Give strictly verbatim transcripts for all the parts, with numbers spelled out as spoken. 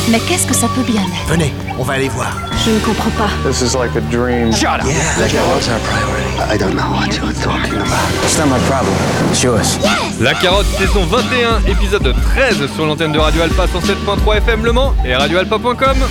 Mais qu'est-ce que ça peut bien être? Venez, on va aller voir. Je ne comprends pas. This is like a dream. Shut up! Yeah, la carotte, c'est un priority. I don't know what you're talking about. It's not my problem. It's yours. La Carotte, saison vingt et un, épisode treize sur l'antenne de Radio Alpa cent sept point trois F M Le Mans et radio alpa point com.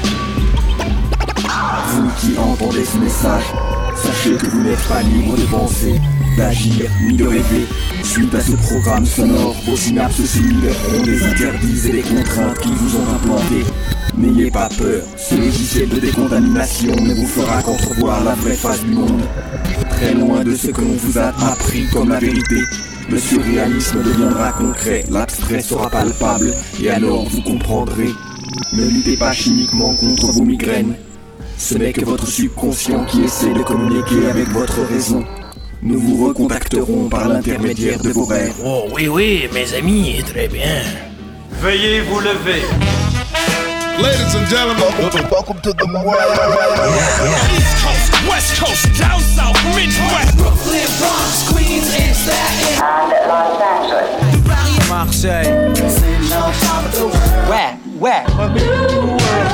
Vous qui entendez ce message, sachez que vous n'êtes pas libre de penser, d'agir, ni de rêver. Suite à ce programme sonore, vos synapses cellulaires ont des interdits et des contraintes qui vous ont implantés. N'ayez pas peur, ce logiciel de décontamination ne vous fera qu'entrevoir la vraie face du monde. Très loin de ce que l'on vous a appris comme la vérité, le surréalisme deviendra concret, l'abstrait sera palpable, et alors vous comprendrez. Ne luttez pas chimiquement contre vos migraines. Ce n'est que votre subconscient qui essaie de communiquer avec votre raison. Nous vous recontacterons par l'intermédiaire de vos rêves. Oh oui, oui, mes amis, très bien. Veuillez vous lever. Ladies and gentlemen, welcome to the world. Yeah, yeah. East Coast, West Coast, down south, Midwest, Brooklyn, Bronx, Queens, and Staten and Los Angeles, Marseille, c'est l'ensemble de ouais, ouais.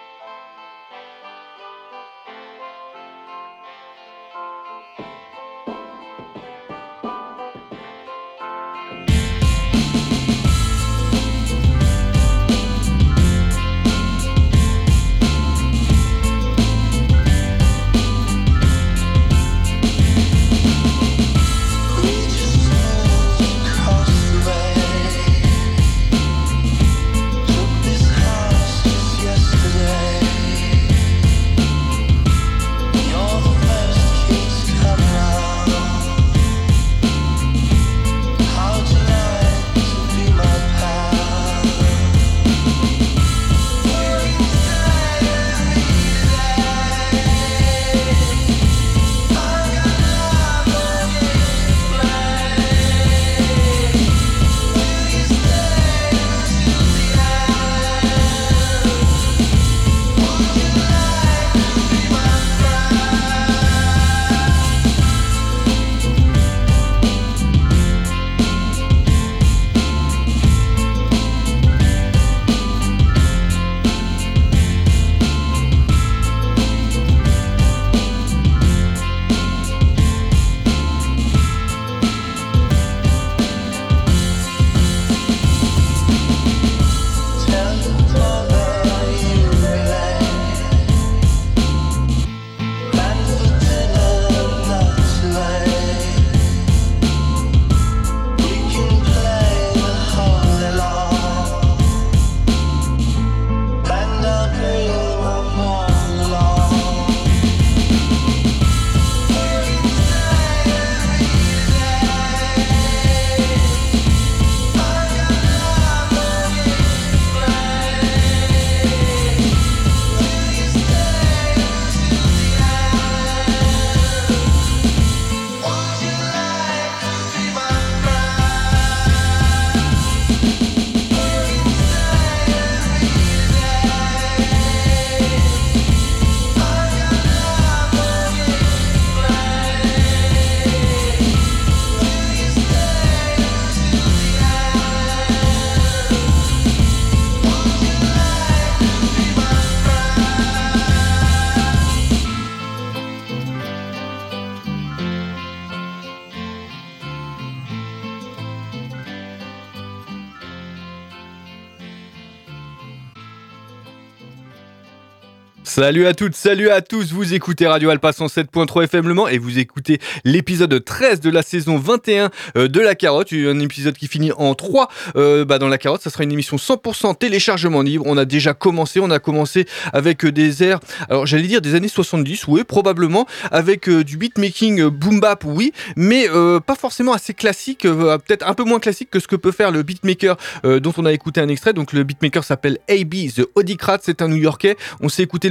Salut à toutes, salut à tous, vous écoutez Radio Alpa cent sept point trois F M Le Mans et vous écoutez l'épisode treize de la saison vingt et un euh, de La Carotte, un épisode qui finit en trois euh, bah dans La Carotte, ça sera une émission cent pour cent téléchargement libre. On a déjà commencé, on a commencé avec euh, des airs, alors j'allais dire des années soixante-dix, oui probablement, avec euh, du beatmaking euh, boom bap, oui, mais euh, pas forcément assez classique, euh, peut-être un peu moins classique que ce que peut faire le beatmaker euh, dont on a écouté un extrait. Donc le beatmaker s'appelle A B The Odicrat, c'est un New-Yorkais, on s'est écouté le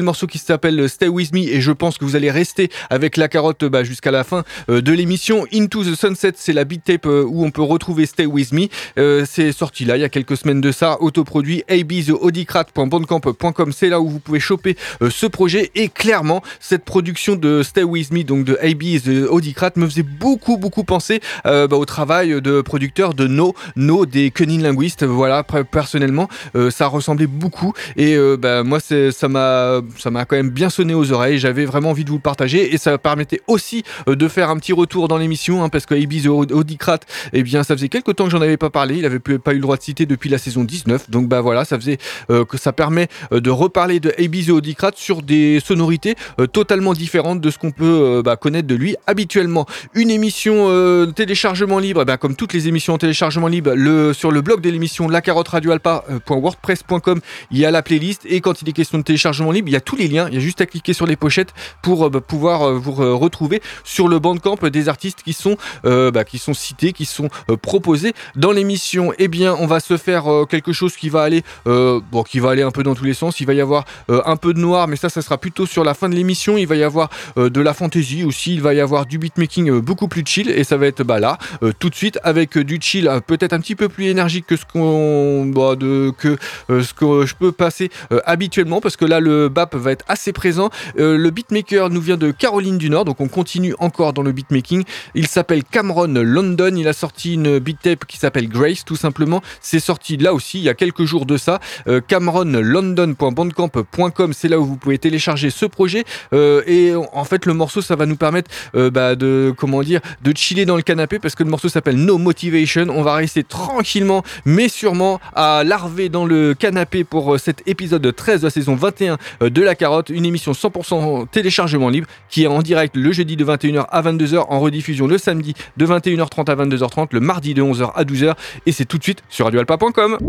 morceau qui s'appelle Stay With Me et je pense que vous allez rester avec la carotte bah, jusqu'à la fin euh, de l'émission. Into the Sunset, c'est la beat tape euh, où on peut retrouver Stay With Me. Euh, c'est sorti là il y a quelques semaines de ça, autoproduit. a b the audicrat point bandcamp point com, c'est là où vous pouvez choper euh, ce projet et clairement cette production de Stay With Me, donc de A B the Audicrat, me faisait beaucoup beaucoup penser euh, bah, au travail de producteur de No, No des Cunning Linguists. Voilà, personnellement euh, ça ressemblait beaucoup et euh, bah, moi c'est, ça m'a ça m'a quand même bien sonné aux oreilles. J'avais vraiment envie de vous le partager et ça permettait aussi euh, de faire un petit retour dans l'émission hein, parce que A B the Audicrat, eh bien ça faisait quelques temps que j'en avais pas parlé, il avait pas eu le droit de citer depuis la saison dix-neuf, donc bah voilà, ça faisait euh, que ça permet euh, de reparler de A B the Audicrat sur des sonorités euh, totalement différentes de ce qu'on peut euh, bah, connaître de lui habituellement. Une émission euh, téléchargement libre, bah, comme toutes les émissions en téléchargement libre, le, sur le blog de l'émission la carotte radio alpa point wordpress point com, il y a la playlist et quand il est question de téléchargement libre, il y a tous les liens, il y a juste à cliquer sur les pochettes pour euh, bah, pouvoir euh, vous euh, retrouver sur le bandcamp des artistes qui sont, euh, bah, qui sont cités, qui sont euh, proposés dans l'émission. Eh bien, on va se faire euh, quelque chose qui va aller, euh, bon, qui va aller un peu dans tous les sens. Il va y avoir euh, un peu de noir, mais ça, ça sera plutôt sur la fin de l'émission. Il va y avoir euh, de la fantasy aussi. Il va y avoir du beatmaking euh, beaucoup plus chill et ça va être bah là euh, tout de suite avec euh, du chill euh, peut-être un petit peu plus énergique que ce qu'on, bah, de, que euh, ce que je peux passer euh, habituellement parce que là le bap va être assez présent. Euh, le beatmaker nous vient de Caroline du Nord, donc on continue encore dans le beatmaking. Il s'appelle Cameron London. Il a sorti une beat tape qui s'appelle Grace tout simplement. C'est sorti là aussi il y a quelques jours de ça. Euh, cameron london point bandcamp point com, c'est là où vous pouvez télécharger ce projet euh, et en fait le morceau ça va nous permettre euh, bah, de comment dire de chiller dans le canapé parce que le morceau s'appelle No Motivation. On va rester tranquillement mais sûrement à larver dans le canapé pour euh, cet épisode treize de la saison vingt et un euh, de La Carotte, une émission cent pour cent téléchargement libre qui est en direct le jeudi de vingt et une heures à vingt-deux heures, en rediffusion le samedi de vingt et une heures trente à vingt-deux heures trente, le mardi de onze heures à douze heures et c'est tout de suite sur radio alpa point com.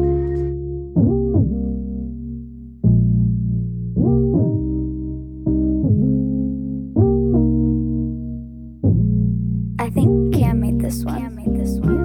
I think Cam made this one. Cam made this one.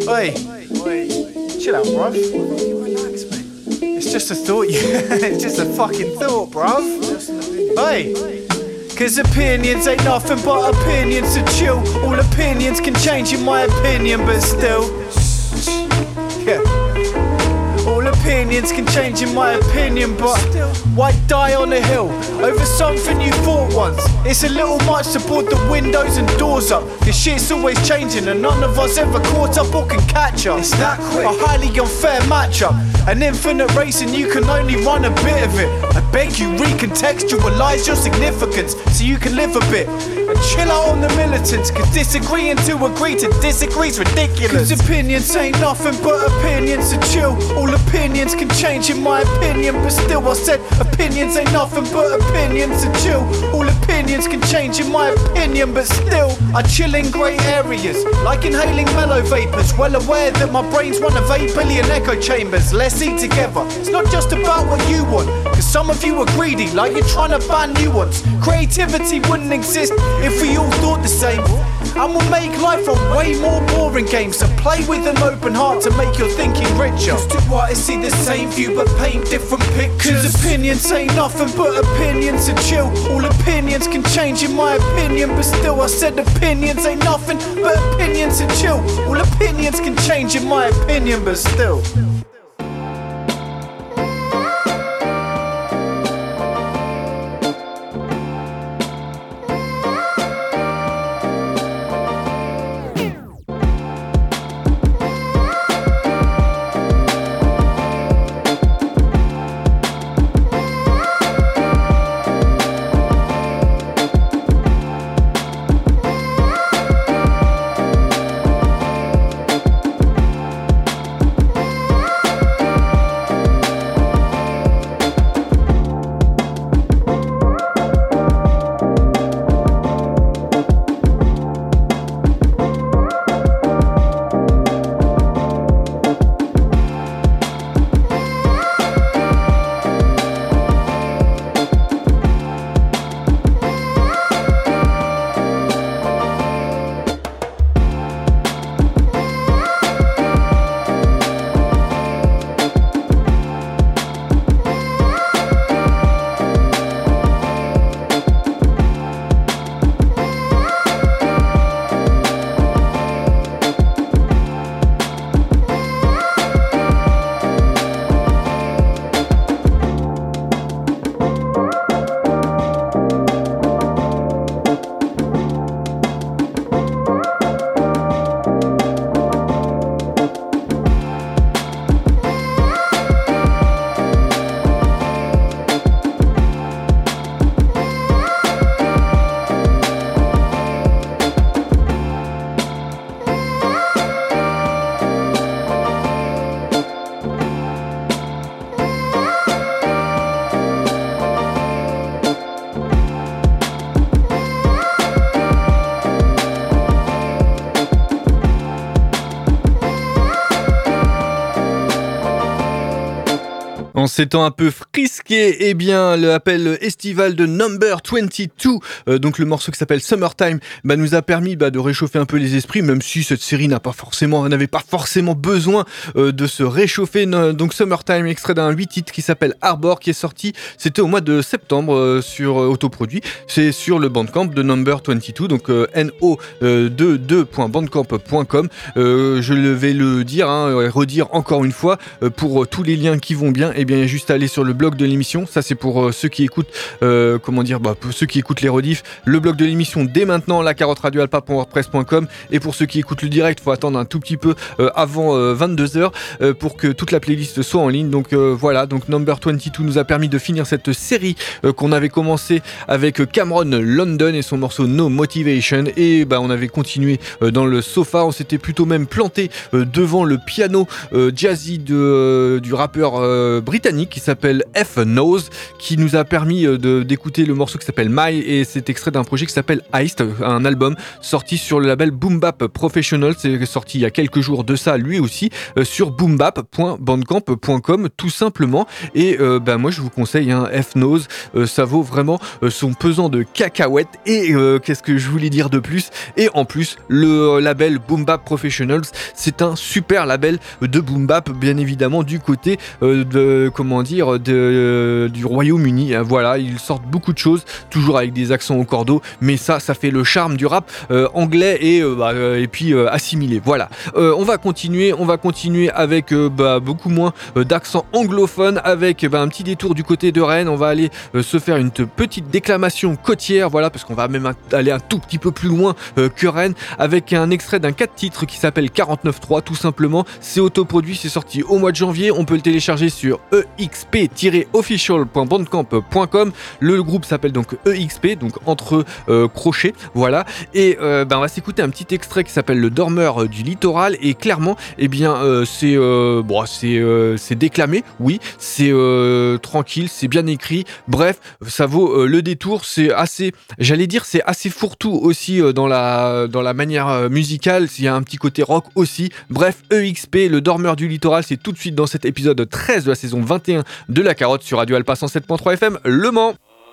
Oi, chill out, bruv. Relax, mate. It's just a thought, it's just a fucking thought, bruv. Oi. Cause opinions ain't nothing but opinions, so chill. All opinions can change in my opinion, but still. Yeah. All opinions can change in my opinion, but why die on a hill over something you thought once? It's a little much to board the windows and doors up. This shit's always changing and none of us ever caught up or can catch up. It's that quick. A highly unfair matchup. An infinite race and you can only run a bit of it. I beg you recontextualize your significance so you can live a bit. And chill out on the militants, cause disagreeing to agree to disagree's ridiculous. Cause opinions ain't nothing but opinions, so chill. All opinions can change in my opinion, but still I said opinions ain't nothing but opinions, so chill. All opinions can change in my opinion, but still I chill in grey areas, like inhaling mellow vapours. Well aware that my brain's one of eight billion echo chambers. Let's eat together. It's not just about what you want, cause some of you are greedy, like you're trying to ban new ones. Creativity wouldn't exist if we all thought the same. And we'll make life a way more boring game. So play with an open heart to make your thinking richer. Cause two artists see the same view but paint different pictures. Cause opinions ain't nothing but opinions, so chill. All opinions can change in my opinion, but still I said opinions ain't nothing but opinions, so chill. All opinions can change in my opinion, but still. En ces temps un peu frisqués, eh bien, l'appel estival de Number vingt-deux, euh, donc le morceau qui s'appelle Summertime, bah, nous a permis bah, de réchauffer un peu les esprits, même si cette série n'a pas forcément, n'avait pas forcément besoin euh, de se réchauffer. Donc Summertime, extrait d'un huit titres qui s'appelle Harbor, qui est sorti, c'était au mois de septembre euh, sur euh, autoproduit. C'est sur le Bandcamp de Number vingt-deux, donc euh, N O vingt-deux point bandcamp point com. Euh, je vais le dire, hein, redire encore une fois, euh, pour euh, tous les liens qui vont bien, eh bien, il y a juste à aller sur le blog de l'émission. Ça, c'est pour euh, ceux qui écoutent, euh, comment dire, bah, pour ceux qui écoutent les rediffs. Le blog de l'émission dès maintenant, la carotte radio alpa point wordpress point com. Et pour ceux qui écoutent le direct, faut attendre un tout petit peu euh, avant euh, vingt-deux heures euh, pour que toute la playlist soit en ligne. Donc euh, voilà, donc Number vingt-deux nous a permis de finir cette série euh, qu'on avait commencé avec Cameron London et son morceau No Motivation. Et bah, on avait continué euh, dans le sofa. On s'était plutôt même planté euh, devant le piano euh, jazzy de, euh, du rappeur euh, britannique britannique qui s'appelle F Knows, qui nous a permis de, d'écouter le morceau qui s'appelle My, et c'est extrait d'un projet qui s'appelle Heist, un album sorti sur le label Boom Bap Professional. C'est sorti il y a quelques jours de ça, lui aussi, euh, sur boom bap point bandcamp point com tout simplement. Et euh, bah, moi je vous conseille hein, F Knows, euh, ça vaut vraiment euh, son pesant de cacahuètes. Et euh, qu'est-ce que je voulais dire de plus? Et en plus, le label Boom Bap Professionals, c'est un super label de boom bap, bien évidemment du côté euh, de comment dire de, euh, du Royaume-Uni. Hein, voilà, ils sortent beaucoup de choses, toujours avec des accents au cordeau, mais ça, ça fait le charme du rap euh, anglais et euh, bah, euh, et puis euh, assimilé. Voilà. Euh, on va continuer, on va continuer avec euh, bah, beaucoup moins euh, d'accent anglophone, avec bah, un petit détour du côté de Rennes. On va aller euh, se faire une t- petite déclamation côtière, voilà, parce qu'on va même aller un tout petit peu plus loin euh, que Rennes, avec un extrait d'un quatre titres qui s'appelle quarante-neuf trois, tout simplement. C'est autoproduit, c'est sorti au mois de janvier. On peut le télécharger sur e x p tiret official point bandcamp point com. Le groupe s'appelle donc E X P, donc entre euh, crochets, voilà. Et euh, ben on va s'écouter un petit extrait qui s'appelle Le Dormeur du Littoral. Et clairement, eh bien, euh, c'est euh, bon, c'est euh, c'est déclamé, oui, c'est euh, tranquille, c'est bien écrit. Bref, ça vaut euh, le détour. C'est assez, j'allais dire, c'est assez fourre-tout aussi euh, dans la dans la manière euh, musicale. Il y a un petit côté rock aussi. Bref, E X P, Le Dormeur du Littoral, c'est tout de suite dans cet épisode treize de la saison vingt et un de La Carotte sur Radio Alpa cent sept point trois F M Le Mans.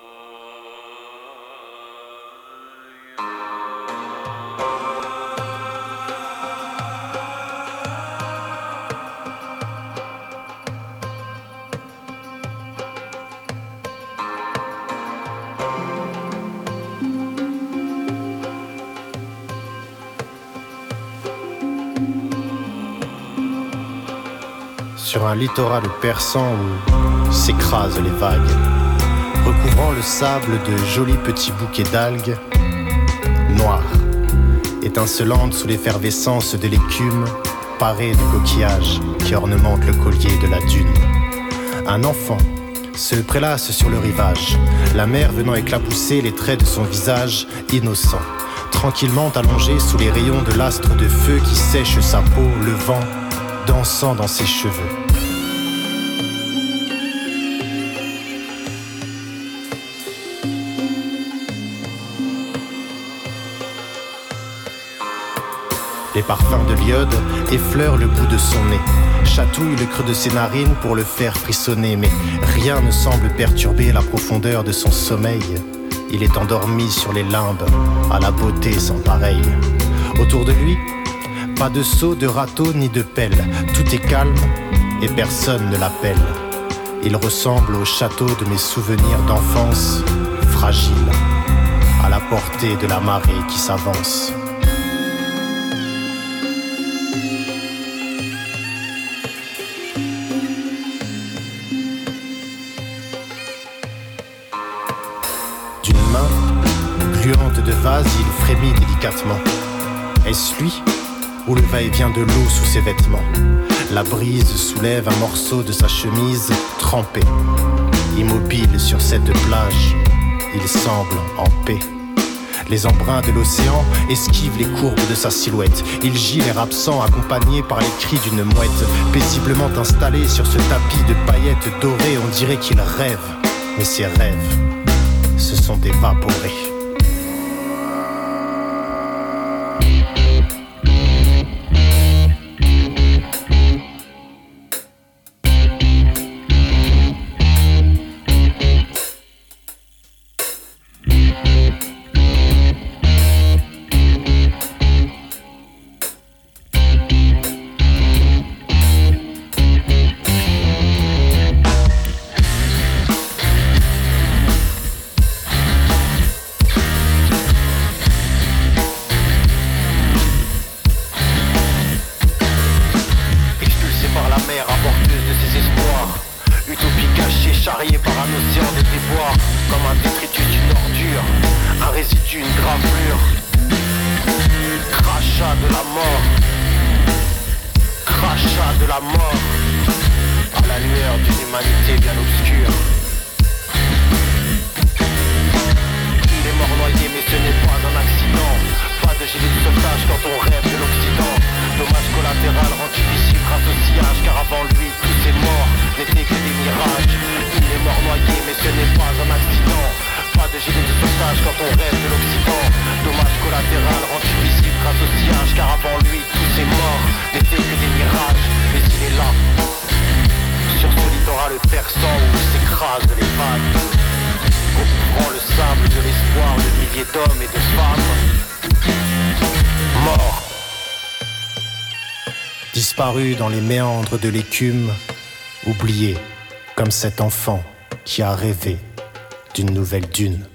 Sur un littoral perçant où s'écrasent les vagues, recouvrant le sable de jolis petits bouquets d'algues noires, étincelantes sous l'effervescence de l'écume, parées de coquillages qui ornementent le collier de la dune. Un enfant se prélasse sur le rivage, la mer venant éclabousser les traits de son visage innocent, tranquillement allongé sous les rayons de l'astre de feu qui sèche sa peau, le vent dansant dans ses cheveux. Les parfums de l'iode effleurent le bout de son nez, chatouillent le creux de ses narines pour le faire frissonner, mais rien ne semble perturber la profondeur de son sommeil. Il est endormi sur les limbes, à la beauté sans pareille. Autour de lui, pas de seau, de râteau ni de pelle, tout est calme et personne ne l'appelle. Il ressemble au château de mes souvenirs d'enfance, fragile, à la portée de la marée qui s'avance. D'une main gluante de vase, il frémit délicatement. Est-ce lui ? Ou le va-et-vient de l'eau sous ses vêtements. La brise soulève un morceau de sa chemise trempée. Immobile sur cette plage, il semble en paix. Les embruns de l'océan esquivent les courbes de sa silhouette. Il gît l'air absent, accompagné par les cris d'une mouette. Paisiblement installé sur ce tapis de paillettes dorées, on dirait qu'il rêve. Mais ses rêves se sont évaporés. Dommage collatéral rend difficile grâce au sillage, car avant lui tous ces morts n'étaient que des mirages. noyer, mais ce n'est pas un accident. Pas de gilet de sauvetage quand on rêve de l'Occident. Dommage collatéral rendu visible grâce au sillage, car avant lui tous ces morts n'étaient que des mirages. Mais il est là, sur ce littoral perçant où s'écrasent les vagues, recouvrant le sable de l'espoir de milliers d'hommes et de femmes morts. Disparu dans les méandres de l'écume, oublié comme cet enfant qui a rêvé d'une nouvelle dune.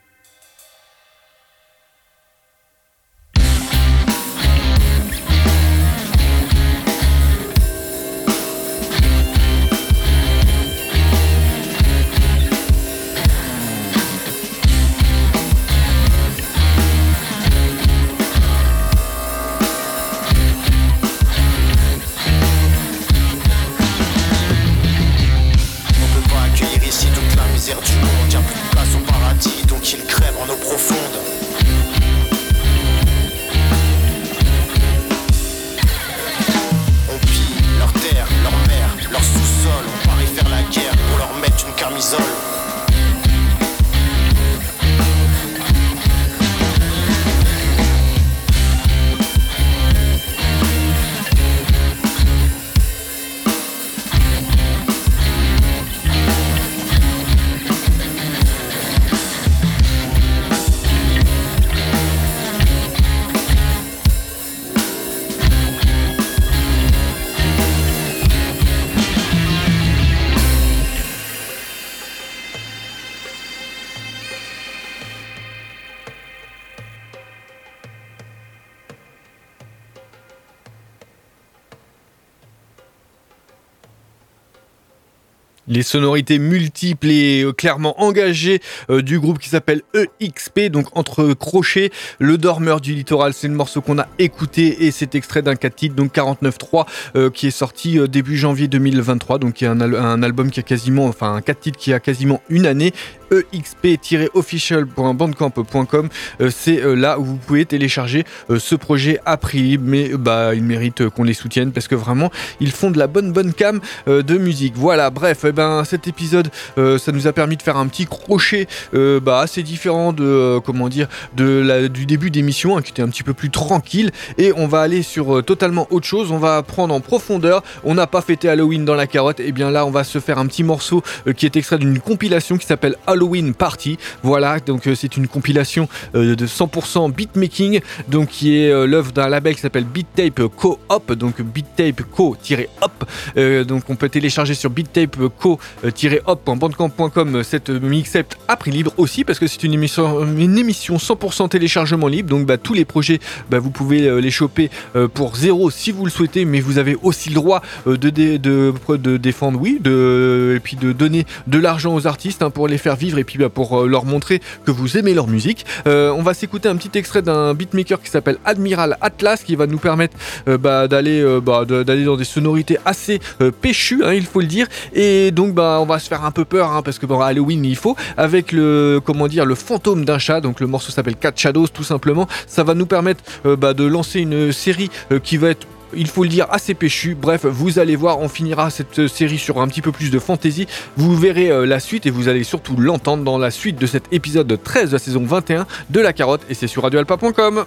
Les sonorités multiples et euh, clairement engagées euh, du groupe qui s'appelle E X P, donc entre crochets, Le Dormeur du Littoral, c'est le morceau qu'on a écouté et c'est extrait d'un quatre titres, donc quarante-neuf trois, euh, qui est sorti euh, début janvier deux mille vingt-trois, donc qui est un, al- un album qui a quasiment, enfin un quatre titres qui a quasiment une année. E X P official point bandcamp point com, euh, c'est euh, là où vous pouvez télécharger euh, ce projet à prix libre, mais euh, bah, il mérite euh, qu'on les soutienne parce que vraiment ils font de la bonne bonne cam euh, de musique. Voilà, bref, eh ben, cet épisode euh, ça nous a permis de faire un petit crochet euh, bah, assez différent de, euh, comment dire, de la, du début d'émission hein, qui était un petit peu plus tranquille, et on va aller sur euh, totalement autre chose, on va prendre en profondeur. On n'a pas fêté Halloween dans la carotte, et bien là on va se faire un petit morceau euh, qui est extrait d'une compilation qui s'appelle Halloween Party. Voilà, donc euh, c'est une compilation euh, de cent pour cent beatmaking, donc qui est euh, l'œuvre d'un label qui s'appelle Beattape Co-op, donc Beattape Co-op. Euh, donc on peut télécharger sur beattape co tiret op point bandcamp point com cette mixtape à prix libre aussi, parce que c'est une émission, une émission cent pour cent téléchargement libre. Donc bah, tous les projets, bah, vous pouvez euh, les choper euh, pour zéro si vous le souhaitez, mais vous avez aussi le droit euh, de, de, de, de défendre, oui, de, et puis de donner de l'argent aux artistes hein, pour les faire vivre, et puis bah, pour euh, leur montrer que vous aimez leur musique. Euh, on va s'écouter un petit extrait d'un beatmaker qui s'appelle Admiral Atlas, qui va nous permettre euh, bah, d'aller, euh, bah, de, d'aller dans des sonorités assez euh, péchues, hein, il faut le dire. Et donc bah, on va se faire un peu peur hein, parce que bon, Halloween il faut, avec le, comment dire, le fantôme d'un chat. Donc le morceau s'appelle Cat Shadows tout simplement. Ça va nous permettre euh, bah, de lancer une série euh, qui va être, il faut le dire, assez péchu. Bref, vous allez voir, on finira cette série sur un petit peu plus de fantasy. Vous verrez euh, la suite, et vous allez surtout l'entendre dans la suite de cet épisode treize de la saison vingt et un de La Carotte, et c'est sur radio alpa point com.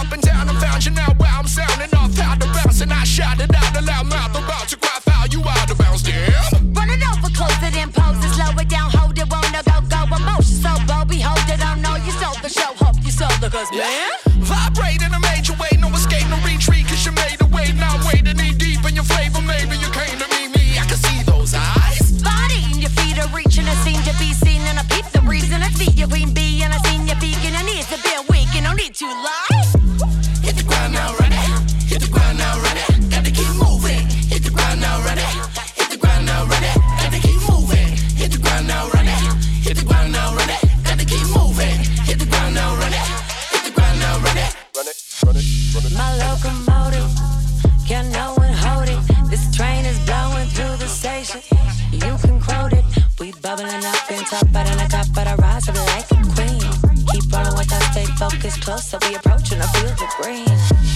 up and down and found you now where I'm sounding off out the bounce. And I shouted out a loud mouth about to cry foul, you out of bounds, damn. Run it over, close it in, pose it, slow it down, hold it, wanna go, go, emotion so bold, behold it, I know you sold the show, hope you sold the cause, man. Vibrate in a major way, no escape, no retreat, cause you made a way, now I'm wading knee deep in your flavor, maybe you came to meet me, I can see those eyes. Body and your feet are reaching, it seem to be seen, and I peep the reason, I see your queen bee, and I seen your beak, and I need to be awake, and I need to lie. Hit the ground now, ready, hit the ground now, ready, gotta keep moving, hit the ground now, ready, hit the ground now, ready, gotta keep moving, hit the ground now, ready, hit the ground now, ready, gotta keep moving, hit the ground now, ready, hit the ground now, ready. Run it, run it, run it. My locomotive, can no one hold it? This train is blowing through the station. You can quote it. We bubbling up and top out in a cup, but I rise up like a queen. Keep rolling with us, stay focused, closer we approaching a field of green.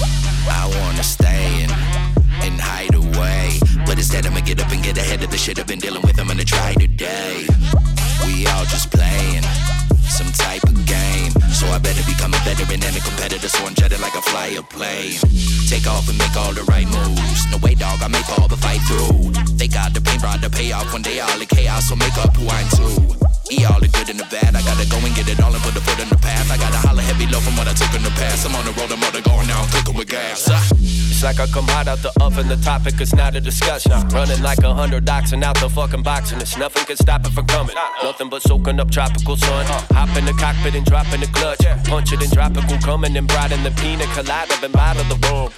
I wanna stay in and hide away, but instead I'ma get up and get ahead of the shit I've been dealing with. I'm gonna try today. We all just playing some type of game, so I better become a veteran and a competitor, so I'm jetted like a flyer plane. Take off and make all the right moves. No way, dog, I make all the fight through. They got the pain, brought the payoff. One day all the chaos, so make up who I'm too. E all the good and the bad, I gotta go and get it all and put the foot in the path. I gotta holler heavy low from what I took in the past. I'm on the road, I'm on the going now, I'm cooking with gas. Uh. It's like I come hot out the oven, the topic is not a discussion. Running like a hundred oxen out the fucking box, and it's nothing can stop it from coming. Nothing but soaking up tropical sun. Hop in the cockpit and drop in the clutch. Punch it in tropical, coming and bright in the pina colada, been out of the room.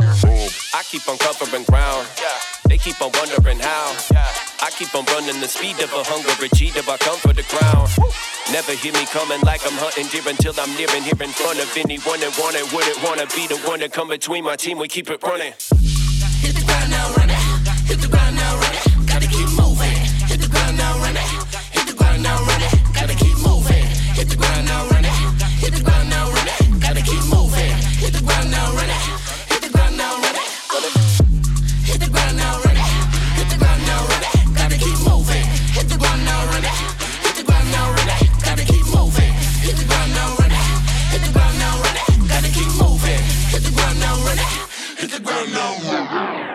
I keep on covering ground. They keep on wondering how. I keep on running the speed of a hungry cheetah. I come for the crown. Never hear me coming like I'm hunting deer until I'm near and here in front of anyone that want it. Wouldn't wanna be the one that come between my team. We keep it running. Hit the ground now, run it. Hit the ground now, run it. Gotta keep moving. Hit the ground now, run it. Hit the ground now, run it. Gotta keep moving. Hit the ground now, run it. Hit the ground now, run it. Gotta keep moving. Hit the ground now, run it. Hit the ground now, run it. Hit the ground now, run it. Hit the ground now, run it. Gotta keep moving. Hit the ground now, run it. Hit the ground now, run it. Gotta keep moving. Hit the ground now, run it. Hit the ground now, run it. Gotta keep moving. Hit the ground now, run it. Hit the ground now, run it.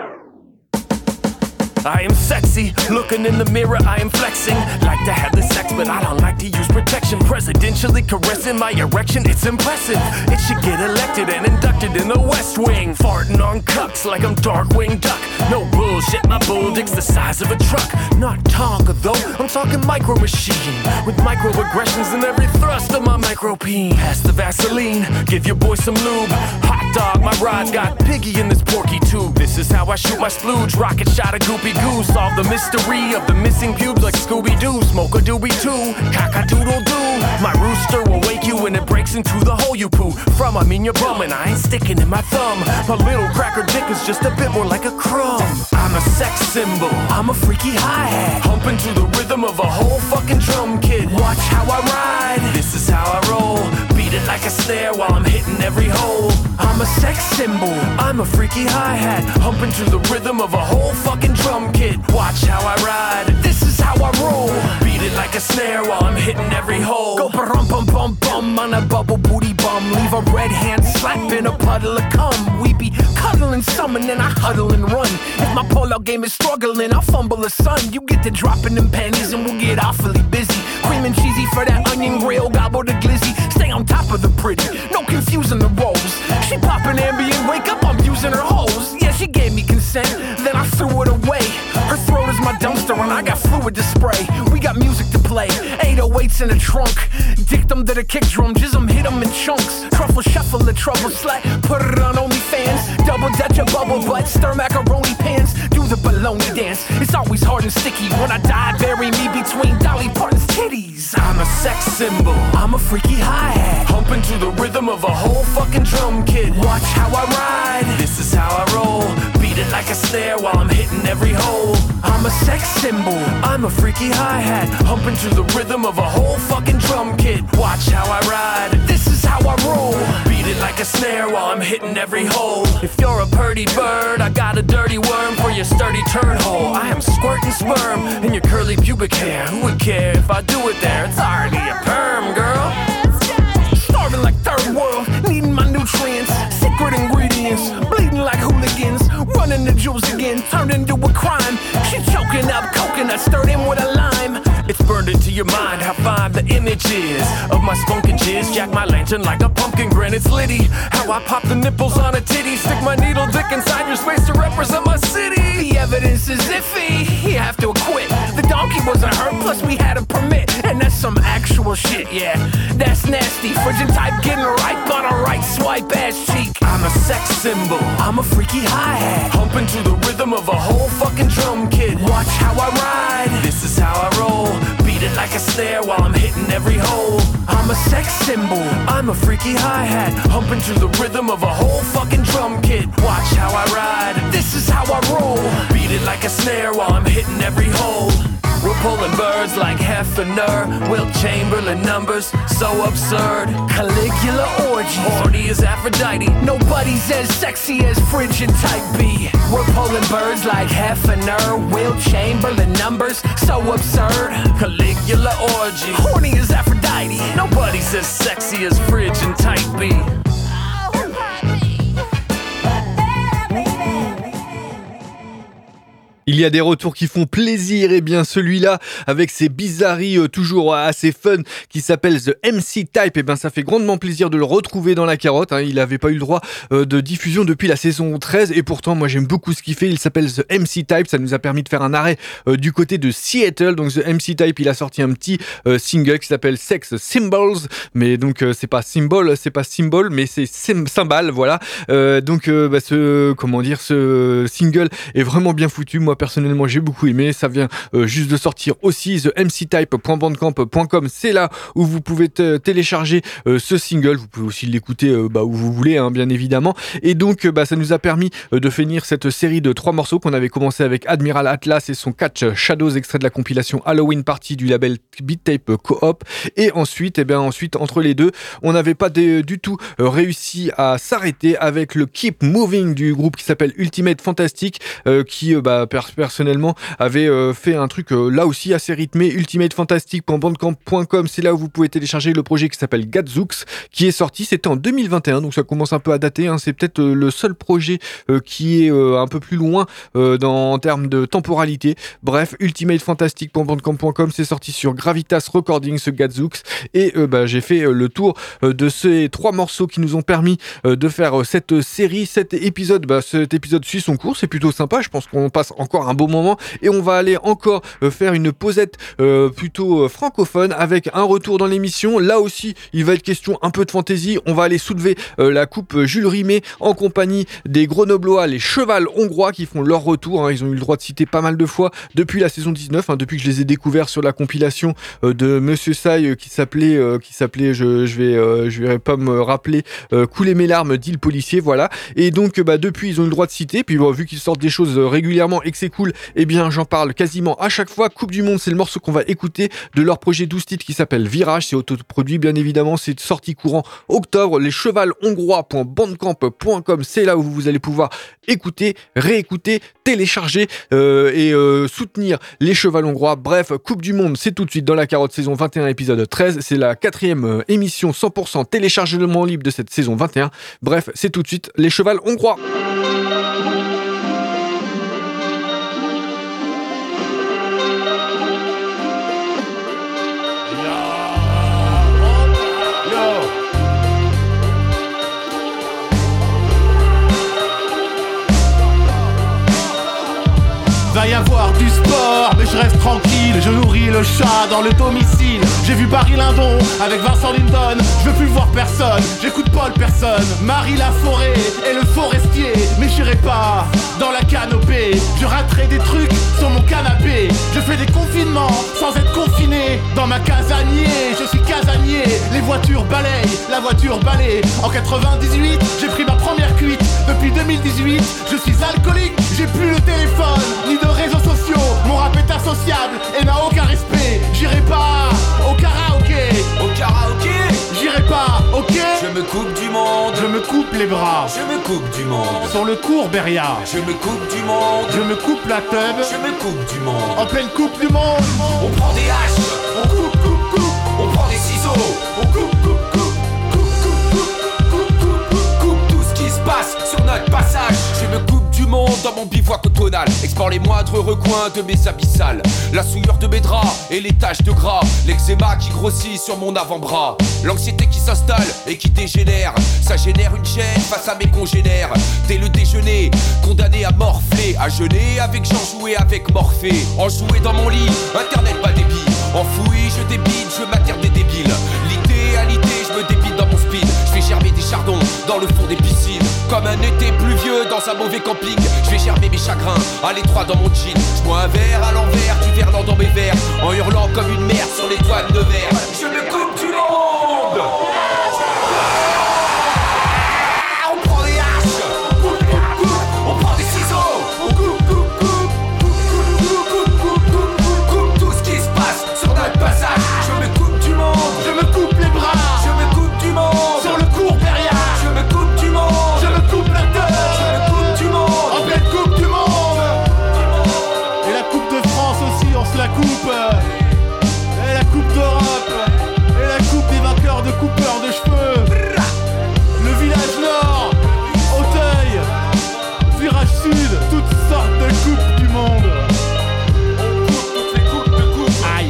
I am sexy, looking in the mirror, I am flexing. Like to have the sex, but I don't like to use protection. Presidentially caressing my erection, it's impressive. It should get elected and inducted in the West Wing. Farting on cucks like I'm Darkwing Duck. No bullshit, my bull dick's the size of a truck. Not Tonka though, I'm talking micro machine. With microaggressions in every thrust of my micro peen. Pass the Vaseline, give your boy some lube. Hot dog, my rod got piggy in this porky tube. This is how I shoot my splooge, rocket shot a goopy goo. Solve the mystery of the missing pubes like Scooby-Doo. Smoke a doobie too, cock-a-doodle-doo. My rooster will wake you when it breaks into the hole you poo. From I mean your bum and I ain't sticking in my thumb. My little cracker dick is just a bit more like a crumb. I'm a sex symbol, I'm a freaky hi-hat. Humping to the rhythm of a whole fucking drum kit. Watch how I ride, this is how I roll. Beat it like a snare while I'm hitting every hole. I'm a sex symbol, I'm a freaky hi-hat. Humping to the rhythm of a whole fucking drum kit. Watch how I ride, this is how I roll. Beat it like a snare while I'm hitting every hole. Go ba-rum bum bum bum on a bubble booty bum. Leave a red hand slap in a puddle of cum. We be cuddling some and then I huddle and run. If my pull-out game is struggling, I'll fumble a son. You get to dropping them panties and we'll get awfully busy. Cream and cheesy for that onion grill, gobble the glizzy. Stay on top of the pretty, no confusing the roles. She poppin' Ambien, wake up, I'm using her hose. Yeah, she gave me consent, then I threw it away. Her throat is my dumpster and I got fluid to spray. We got music to play, eight oh eights in the trunk. Dick them to the kick drum, jizz them, hit them in chunks. Truffle shuffle the trouble slut, put it on OnlyFans. Double dutch a bubble butt, stir macaroni pants. Do the baloney dance, it's always hard and sticky. When I die, bury me between Dolly Parton's titties. I'm a sex symbol, I'm a freaky hi-hat. Humping to the rhythm of a whole fucking drum kit. Watch how I ride, this is how I roll. Beat it like a snare while I'm hitting every hole. I'm a sex symbol, I'm a freaky hi-hat. Humping to the rhythm of a whole fucking drum kit. Watch how I ride, this is how I roll. Beat it like a snare while I'm hitting every hole. If you're a purdy bird, I got a dirty worm for your sturdy turd hole. I am squirting sperm in your curly pubic hair. Who would care if I do it there? It's already a perm, girl. Starving like third world, needing my nutrients. visuals again turned into a crime. She choking up coconut, stirred in with a lime. It's burned into your mind how fine the image is of my spunk and jizz. Jack my lantern like a pumpkin grin. It's litty how I pop the nipples on a titty. Stick my needle dick inside your space to represent my city. The evidence is iffy, you have to acquit. The donkey wasn't hurt, plus we had a permit. And that's some actual shit, yeah. That's nasty, frigid type getting ripe on a right swipe ass cheek. I'm a sex symbol, I'm a freaky hi-hat, humping to the rhythm of a whole fucking drum kit. Watch how I ride, this is how I roll. Beat it like a snare while I'm hitting every hole. I'm a sex symbol, I'm a freaky hi-hat, humping to the rhythm of a whole fucking drum kit. Watch how I ride, this is how I roll. Beat it like a snare while I'm hitting every hole. We're pulling birds like Hefner, Wilt Chamberlain numbers, so absurd. Caligula orgy, horny as Aphrodite. Nobody's as sexy as frigid type B. We're pulling birds like Hefner, Wilt Chamberlain numbers, so absurd. Caligula orgy, horny as Aphrodite. Nobody's as sexy as frigid type B. Il y a des retours qui font plaisir, et bien celui-là, avec ses bizarreries euh, toujours assez fun, qui s'appelle The M C Type, et bien ça fait grandement plaisir de le retrouver dans la carotte, hein. Il n'avait pas eu le droit euh, de diffusion depuis la saison treize, et pourtant moi j'aime beaucoup ce qu'il fait. Il s'appelle The M C Type, ça nous a permis de faire un arrêt euh, du côté de Seattle. Donc The M C Type, il a sorti un petit euh, single qui s'appelle Sex Symbols, mais donc euh, c'est pas symbol, c'est pas symbol, mais c'est cymbal, voilà. Euh, donc euh, bah, ce, comment dire, ce single est vraiment bien foutu. Moi personnellement j'ai beaucoup aimé, ça vient euh, juste de sortir aussi. The M C Type point bandcamp point com, c'est là où vous pouvez t- télécharger euh, ce single. Vous pouvez aussi l'écouter euh, bah, où vous voulez, hein, bien évidemment. Et donc euh, bah, ça nous a permis euh, de finir cette série de trois morceaux qu'on avait commencé avec Admiral Atlas et son Catch Shadows, extrait de la compilation Halloween Party du label Beat Tape Co-op. Et ensuite, et bien ensuite entre les deux, on n'avait pas de, du tout euh, réussi à s'arrêter avec le Keep Moving du groupe qui s'appelle Ultimate Fantastic, euh, qui euh, bah, per- personnellement avait euh, fait un truc euh, là aussi assez rythmé. ultimate fantastic point bandcamp point com, c'est là où vous pouvez télécharger le projet qui s'appelle Gadzooks, qui est sorti, c'était en deux mille vingt et un, donc ça commence un peu à dater, hein. C'est peut-être euh, le seul projet euh, qui est euh, un peu plus loin euh, dans, en termes de temporalité. Bref, ultimate fantastic point bandcamp point com, c'est sorti sur Gravitas Recordings, ce Gadzooks, et euh, bah, j'ai fait euh, le tour euh, de ces trois morceaux qui nous ont permis euh, de faire euh, cette série, cet épisode. Bah, cet épisode suit son cours, c'est plutôt sympa, je pense qu'on passe encore un beau moment, et on va aller encore euh, faire une posette euh, plutôt euh, francophone avec un retour dans l'émission. Là aussi il va être question un peu de fantaisie. On va aller soulever euh, la coupe Jules Rimet en compagnie des Grenoblois, les Cheval Hongrois, qui font leur retour, hein. Ils ont eu le droit de citer pas mal de fois depuis la saison dix-neuf, hein, depuis que je les ai découverts sur la compilation euh, de Monsieur Sai euh, qui s'appelait euh, qui s'appelait je, je vais euh, je vais pas me rappeler euh, Couler mes larmes dit le policier, voilà. Et donc bah, depuis ils ont eu le droit de citer, puis bon, vu qu'ils sortent des choses euh, régulièrement et que c'est cool, et eh bien j'en parle quasiment à chaque fois. Coupe du Monde, c'est le morceau qu'on va écouter de leur projet douze titres qui s'appelle Virage, c'est autoproduit bien évidemment, c'est sorti courant octobre. Les cheval hongrois point bandcamp point com, c'est là où vous allez pouvoir écouter, réécouter, télécharger euh, et euh, soutenir les cheval hongrois. Bref, Coupe du Monde, c'est tout de suite dans la carotte, saison vingt et un, épisode treize, c'est la quatrième euh, émission cent pour cent téléchargement libre de cette saison vingt et un. Bref, c'est tout de suite les cheval hongrois. Va y avoir du sport, mais je reste tranquille, je nourris le chat dans le domicile. J'ai vu Barry Lyndon avec Vincent Lindon, je veux plus voir personne, j'écoute Paul personne. Marie Laforêt et le forestier, mais j'irai pas dans la canopée. Je raterai des trucs sur mon canapé, je fais des confinements sans être confiné. Dans ma casanier, je suis casanier, les voitures balayent, la voiture balaye. En quatre-vingt-dix-huit, j'ai pris ma première cuite, depuis deux mille dix-huit, je suis alcoolique, j'ai plus le téléphone, ni de réseaux sociaux, mon rap est associable et n'a aucun respect. J'irai pas au karaoké, au karaoké, j'irai pas, ok. Je me coupe du monde, je me coupe les bras, je me coupe du monde. Sur le cours Beria, je me coupe du monde, je me coupe la teub, je me coupe du monde. En pleine coupe du monde, on prend des haches, on coupe, coupe, coupe, on prend des ciseaux, on coupe, coupe, coupe, coupe, coupe, coupe, coupe, coupe, coupe tout ce qui se passe sur notre passage. Je me coupe du monde dans mon bivouac automnal. Explore les moindres recoins de mes abyssales. La souillure de mes draps et les taches de gras. L'eczéma qui grossit sur mon avant-bras. L'anxiété qui s'installe et qui dégénère. Ça génère une chaîne face à mes congénères. Dès le déjeuner, condamné à morfler. À jeûner avec Jean, jouer avec Morphée. Enjoué dans mon lit, internet pas débit. Enfoui, je débite, je m'attire des débiles. L'idéalité, je me débite dans mon speed. Je fais germer des chardons dans le fond des piscines. Comme un été pluvieux dans un mauvais camping. Je vais germer mes chagrins à l'étroit dans mon jean. Je bois un verre à l'envers, du verlan dans mes verres. En hurlant comme une merde sur les douanes de verre. Je me coupe du monde. On prend des haches, coupe, coupe, coupe. On prend des ciseaux, on coupe, coupe, coupe. Coupe, coupe, coupe, coupe, coupe, coupe. Tout ce qui se passe sur notre passage. Je me coupe du monde, je me coupe les bras. Je me coupe du monde, sur le cours derrière. Je me coupe du monde, je me coupe la tête. Je me coupe du monde, en pleine coupe du monde. Et la coupe de France aussi, on se la coupe. Et la coupe d'Europe. Et la coupe des vainqueurs de coupeurs de cheveux. Le village nord, Auteuil, virage sud, toutes sortes de coupes du monde. On coupe toutes les coupes de coupe. Aïe.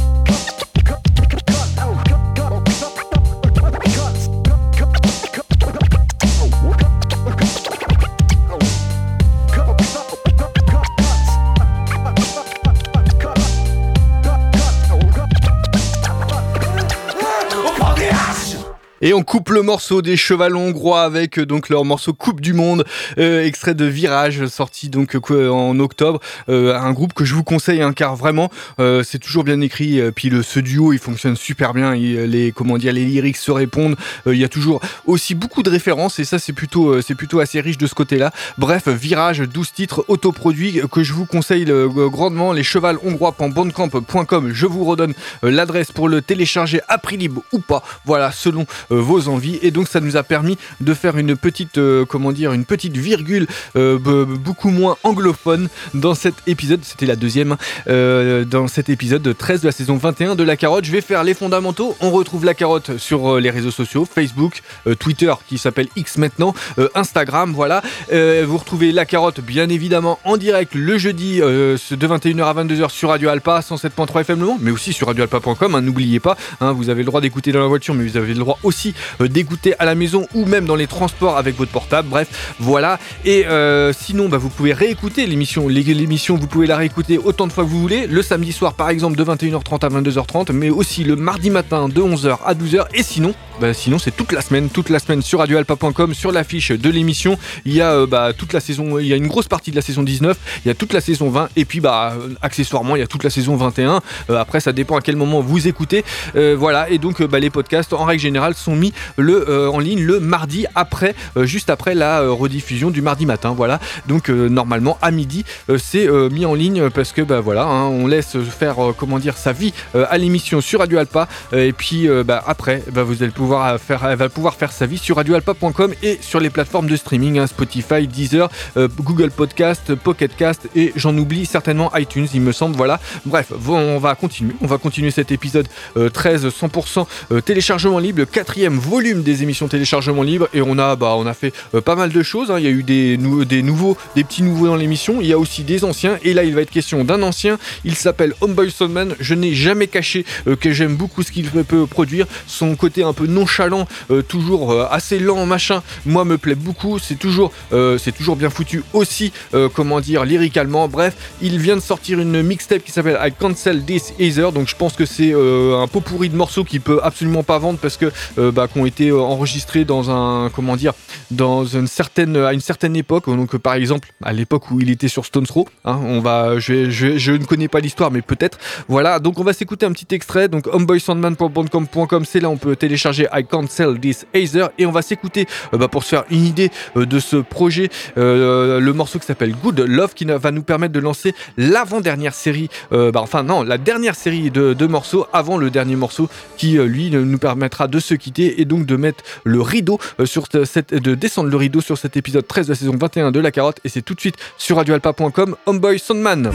Et on coupe le morceau des Chevalons hongrois avec euh, donc leur morceau Coupe du Monde, euh, extrait de Virage, sorti donc euh, en octobre. Euh, un groupe que je vous conseille, hein, car vraiment euh, c'est toujours bien écrit. Euh, puis le ce duo, il fonctionne super bien. Il, les comment dire, les lyrics se répondent. Euh, il y a toujours aussi beaucoup de références et ça c'est plutôt euh, c'est plutôt assez riche de ce côté-là. Bref, Virage, douze titres autoproduits que je vous conseille euh, grandement. Les chevals hongrois point bandcamp point com. Je vous redonne euh, l'adresse pour le télécharger à prix libre ou pas. Voilà, selon Euh, vos envies. Et donc ça nous a permis de faire une petite euh, comment dire une petite virgule euh, b- beaucoup moins anglophone dans cet épisode. C'était la deuxième euh, dans cet épisode treize de la saison vingt et un de La Carotte. Je vais faire les fondamentaux. On retrouve La Carotte sur euh, les réseaux sociaux, Facebook, euh, Twitter qui s'appelle X maintenant, euh, Instagram, voilà. Euh, vous retrouvez La Carotte bien évidemment en direct le jeudi euh, de vingt et une heures à vingt-deux heures sur Radio Alpa cent sept point trois F M Le Mans, mais aussi sur radio alpa point com, hein, n'oubliez pas, hein, vous avez le droit d'écouter dans la voiture, mais vous avez le droit aussi euh, d'écouter à la maison ou même dans les transports avec votre portable. Bref, voilà. Et euh, sinon, bah, vous pouvez réécouter l'émission. L'émission, vous pouvez la réécouter autant de fois que vous voulez. Le samedi soir, par exemple, de vingt et une heures trente à vingt-deux heures trente, mais aussi le mardi matin de onze heures à douze heures. Et sinon, bah, sinon c'est toute la semaine, toute la semaine sur radio alpa point com, sur l'affiche de l'émission. Il y a euh, bah, toute la saison, il y a une grosse partie de la saison dix-neuf, il y a toute la saison vingt, et puis bah euh, accessoirement, il y a toute la saison vingt et un. Euh, après, ça dépend à quel moment vous écoutez. Euh, voilà. Et donc, euh, bah, les podcasts, en règle générale, sont mis le euh, en ligne le mardi après, euh, juste après la euh, rediffusion du mardi matin. Voilà. Donc euh, normalement à midi, euh, c'est euh, mis en ligne parce que bah voilà, hein, on laisse faire euh, comment dire sa vie euh, à l'émission sur Radio Alpa, euh, et puis euh, bah, après, bah, vous allez pouvoir faire, elle va pouvoir faire sa vie sur radio alpa point com et sur les plateformes de streaming, hein, Spotify, Deezer, euh, Google Podcast, Pocket Cast et j'en oublie certainement iTunes, il me semble. Voilà. Bref, on va continuer, on va continuer cet épisode euh, treize cent pour cent euh, téléchargement libre, le quatrième volume des émissions téléchargement libre, et on a bah on a fait euh, pas mal de choses, hein. Il y a eu des, nou- des nouveaux, des petits nouveaux dans l'émission, il y a aussi des anciens, et là il va être question d'un ancien, il s'appelle Homeboy Soundman. Je n'ai jamais caché euh, que j'aime beaucoup ce qu'il peut produire, son côté un peu nonchalant, euh, toujours euh, assez lent machin, moi me plaît beaucoup, c'est toujours euh, c'est toujours bien foutu aussi, euh, comment dire, lyricalement. Bref, il vient de sortir une mixtape qui s'appelle I Cancel This Either, donc je pense que c'est euh, un pot pourri de morceaux qui peut absolument pas vendre parce que euh, bah, qui ont été euh, enregistrés dans un comment dire dans une certaine à une certaine époque, donc euh, par exemple à l'époque où il était sur Stones Throw, hein, on va je, je, je ne connais pas l'histoire mais peut-être. Voilà, donc on va s'écouter un petit extrait. Donc homeboy soundman point bandcamp point com, c'est là on peut télécharger I Cancel This Either, et on va s'écouter euh, bah, pour se faire une idée euh, de ce projet, euh, le morceau qui s'appelle Good Love, qui va nous permettre de lancer l'avant-dernière série, euh, bah, enfin non, la dernière série de, de morceaux avant le dernier morceau qui euh, lui nous permettra de se quitter et donc de mettre le rideau euh, sur cette, de descendre le rideau sur cet épisode treize de la saison vingt et un de La Carotte, et c'est tout de suite sur radio alpa point com, Homeboy Soundman.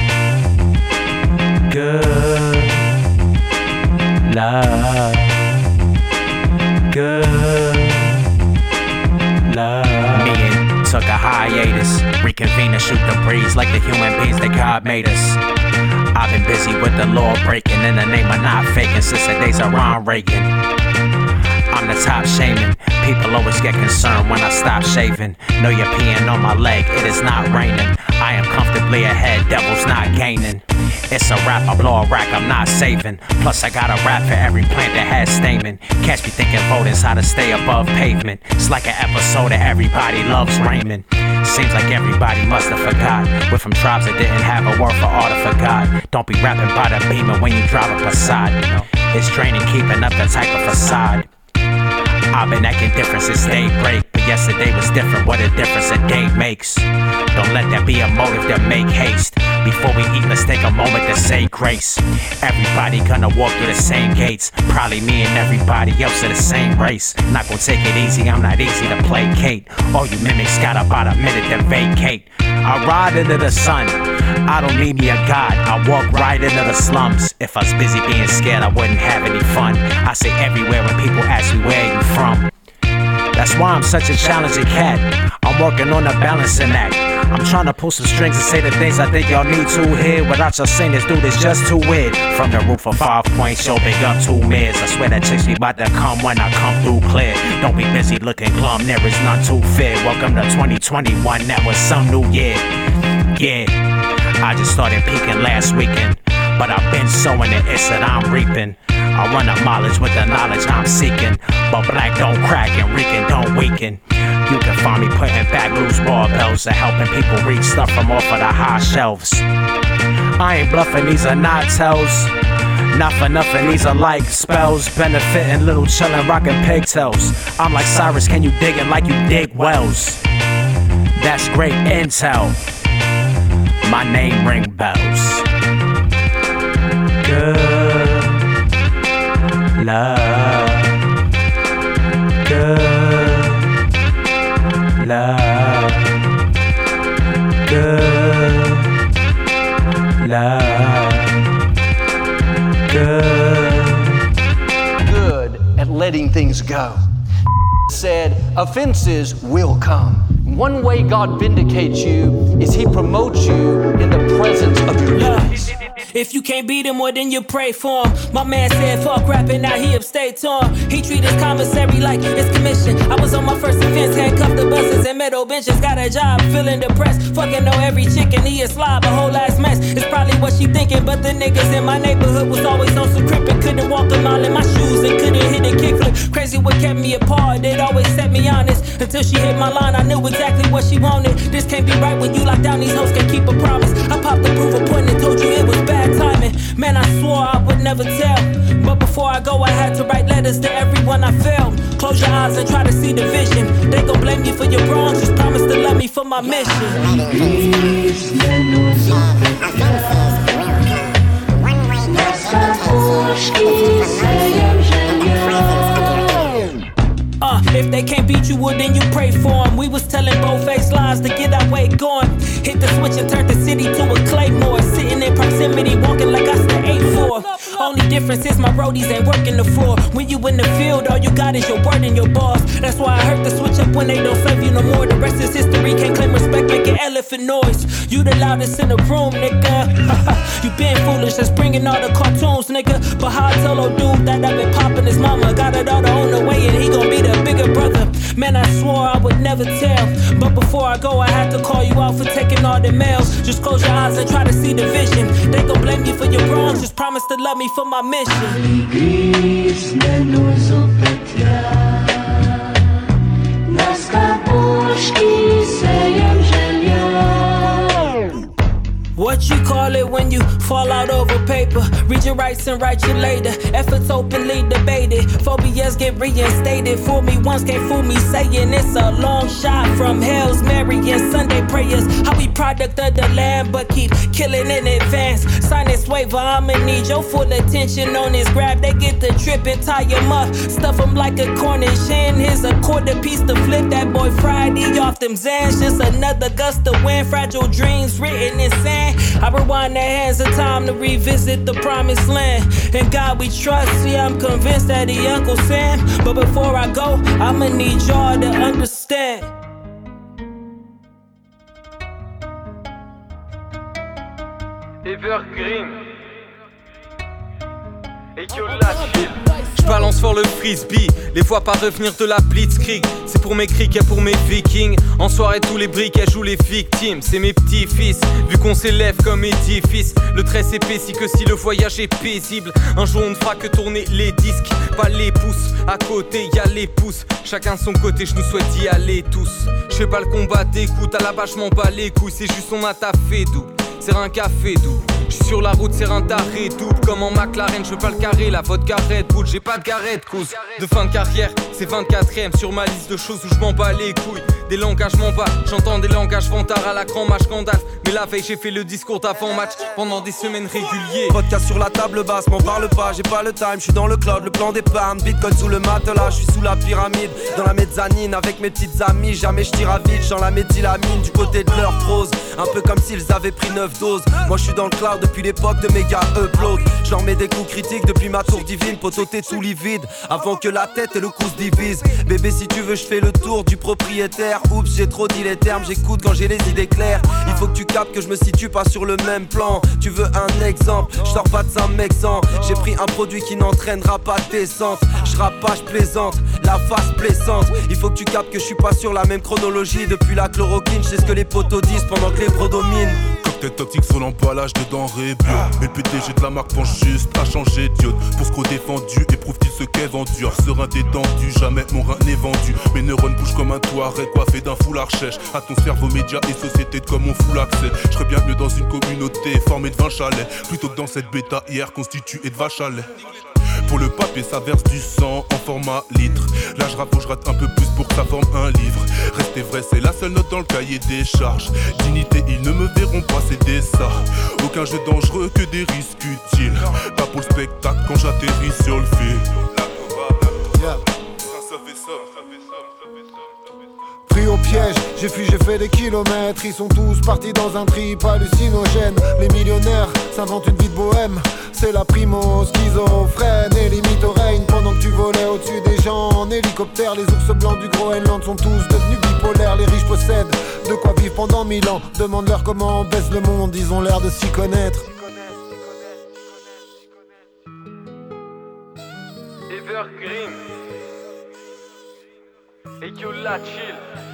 Good love, good love. Me and took a hiatus, re- reconvene and shoot the breeze like the human beings that God made us. I've been busy with the law breaking in the name of not faking since the days of Ron Reagan. I'm the top shaman. People always get concerned when I stop shaving. Know you're peeing on my leg, it is not raining. I am comfortably ahead, devil's not gaining. It's a rap, I blow a rack, I'm not saving. Plus I got a rap for every plant that has stamen. Catch me thinking voting's how to stay above pavement. It's like an episode of Everybody Loves Raymond. Seems like everybody must have forgot. We're from tribes that didn't have a word for all to forgot. Don't be rapping by the beamer when you drive a Passat. It's draining keeping up that type of facade. I've been acting different since daybreak, but yesterday was different. What a difference a day makes. Don't let that be a motive to make haste. Before we eat, let's take a moment to say grace. Everybody gonna walk through the same gates. Probably me and everybody else in the same race. Not gonna take it easy, I'm not easy to placate. All you mimics got about a minute to vacate. I ride into the sun, I don't need me a god. I walk right into the slums. If I was busy being scared, I wouldn't have any fun. I say everywhere when people ask me where you from. That's why I'm such a challenging cat. I'm working on a balancing act. I'm trying to pull some strings and say the things I think y'all need to hear. Without y'all saying this dude is just too weird. From the roof of Five Points, yo, big up two mirrors. I swear that chicks be about to come when I come through clear. Don't be busy looking glum, there is none too fair. Welcome to twenty twenty-one, that was some new year. Yeah, I just started peaking last weekend, but I've been sowing the it's that I'm reaping. I run up mileage with the knowledge I'm seeking. But black don't crack and Rican don't weaken. You can find me putting back loose barbells and helping people reach stuff from off of the high shelves. I ain't bluffing, these are not tells. Not for nothing, these are like spells. Benefiting, little chillin', rockin' pigtails. I'm like Cyrus, can you dig it like you dig wells? That's great intel. My name ring bells. Good love. Good love. Good love. Good. Good at letting things go. Said offenses will come. One way God vindicates you is He promotes you in the presence of your enemies. If you can't beat him, well then you pray for him. My man said fuck rapping, now he upstate to him. He treat his commissary like it's commission. I was on my first offense, handcuffed the buses and metal benches. Got a job, feeling depressed. Fucking know every chick and he a slob, a whole ass mess. It's probably what she thinking, but the niggas in my neighborhood was always on some crippin'. Couldn't walk a mile in my shoes and couldn't hit a kickflip. Crazy what kept me apart, it always set me honest. Until she hit my line, I knew exactly what she wanted. This can't be right when you lock down these hoes, can't keep a promise. I popped the proof of point and told you it was bad timing. Man, I swore I would never tell. But before I go, I had to write letters to everyone I failed. Close your eyes and try to see the vision. They gon' blame you for your wrongs, just promise to love me for my mission. Uh, if they can't beat you, well then you pray for them. We was telling bold-faced lies to get our way going. Hit the switch and turn the city to a claymore. Sitting in proximity, walking like I stay eight four. Only difference is my roadies ain't working the floor. When you in the field, all you got is your word and your boss. That's why I heard the switch up when they don't save you no more. The rest is history, can't claim respect, making elephant noise. You the loudest in the room, nigga. You been foolish, that's bringing all the cartoons, nigga. But how I tell old dude that I've been popping his mama. Got it all on the way and he gon' be the bigger brother. Man, I swore I would never tell. But before I go, I had to call you out for taking all the mails. Just close your eyes and try to see the vision. They gon' blame you for your wrongs, just promise to love me for my mission. What you call it when you fall out over paper? Read your rights and write you later. Efforts openly debated. Phobias get reinstated. Fool me once, can't fool me saying it's a long shot from Hail's Mary and Sunday prayers. How we product of the land but keep killing in advance. Sign this waiver, I'ma need your full attention on this grab. They get the trip and tie him up. Stuff him like a Cornish hen. Here's a quarter piece to flip that boy Friday off them Zans. Just another gust of wind. Fragile dreams written in sand. I rewind the hands of time to revisit the promised land. In God we trust, see I'm convinced that he Uncle Sam. But before I go, I'ma need y'all to understand. Evergreen. Et que la chill. J'balance fort le frisbee, les vois pas revenir de la blitzkrieg. C'est pour mes criquets, pour mes vikings. En soirée tous les briquets jouent les victimes. C'est mes petits-fils, vu qu'on s'élève comme édifice. Le trait s'épaissit que si le voyage est paisible. Un jour on ne fera que tourner les disques, pas les pouces. À côté y'a les pouces, chacun de son côté, je nous souhaite d'y aller tous. Je fais pas le combat d'écoute, à la base je m'en bats les couilles. C'est juste on a taffé double, c'est un café double. J'suis sur la route, c'est un taré double. Comme en McLaren, j'veux pas le carré, la vodka Red Bull. J'ai pas de garette, cause de fin de carrière. C'est vingt-quatrième sur ma liste de choses où j'm'en bats les couilles. Des langages m'en bats, j'entends des langages vantards à la grand match Gandalf. Mais la veille, j'ai fait le discours d'avant-match pendant des semaines réguliers. Vodka sur la table basse, m'en parle pas, j'ai pas le time. J'suis dans le cloud, le plan d'épargne. Bitcoin sous le matelas, j'suis sous la pyramide. Dans la mezzanine avec mes petites amies. Jamais j'tire à vide, j'en la méthylamine du côté de leur prose. Un peu comme s'ils avaient pris neuf doses. Moi j'suis dans le cloud depuis l'époque de méga upload. J'leur mets des coups critiques depuis ma tour divine. Poteau t'es tout livide avant que la tête et le cou se divisent. Bébé si tu veux j'fais le tour du propriétaire. Oups j'ai trop dit les termes, j'écoute quand j'ai les idées claires. Il faut que tu captes que je me situe pas sur le même plan. Tu veux un exemple, j'sors pas de Saint-Mexan. J'ai pris un produit qui n'entraînera pas de descente. J'rappe pas, j'plaisante, la face plaisante. Il faut que tu captes que je suis pas sur la même chronologie. Depuis la chloroquine, j'sais ce que les potos disent pendant que les bros dominent. Cocktail toxique sur l'emballage de denrées bio. Et le P D G de la marque pense juste à changer d'iode. Pour ce qu'au défendu, éprouve-t-il ce qu'est vendu. Serein détendu, jamais mon rein n'est vendu. Mes neurones bougent comme un Touareg coiffé d'un foulard chèche. À ton cerveau, médias et société de comme on fout l'accès. Je serais bien mieux dans une communauté formée de vingt chalets plutôt que dans cette bêta hier constituée de vaches à lait. Pour le papier ça verse du sang en format litre. Là je rappe, je rate un peu plus pour que ça forme un livre. Restez vrai, c'est la seule note dans le cahier des charges. Dignité, ils ne me verront pas, c'est des ça. Aucun jeu dangereux que des risques utiles. Pas pour le spectacle quand j'atterris sur le fil. Yeah. Pris au piège, j'ai fui, j'ai fait des kilomètres. Ils sont tous partis dans un trip hallucinogène. Les millionnaires s'inventent une vie de bohème. C'est la primo schizophrène et limite au règne. Pendant que tu volais au-dessus des gens en hélicoptère. Les ours blancs du Groenland sont tous devenus bipolaires. Les riches possèdent de quoi vivre pendant mille ans. Demande-leur comment on baisse le monde, ils ont l'air de s'y connaître. Evergreen. Et que la chill.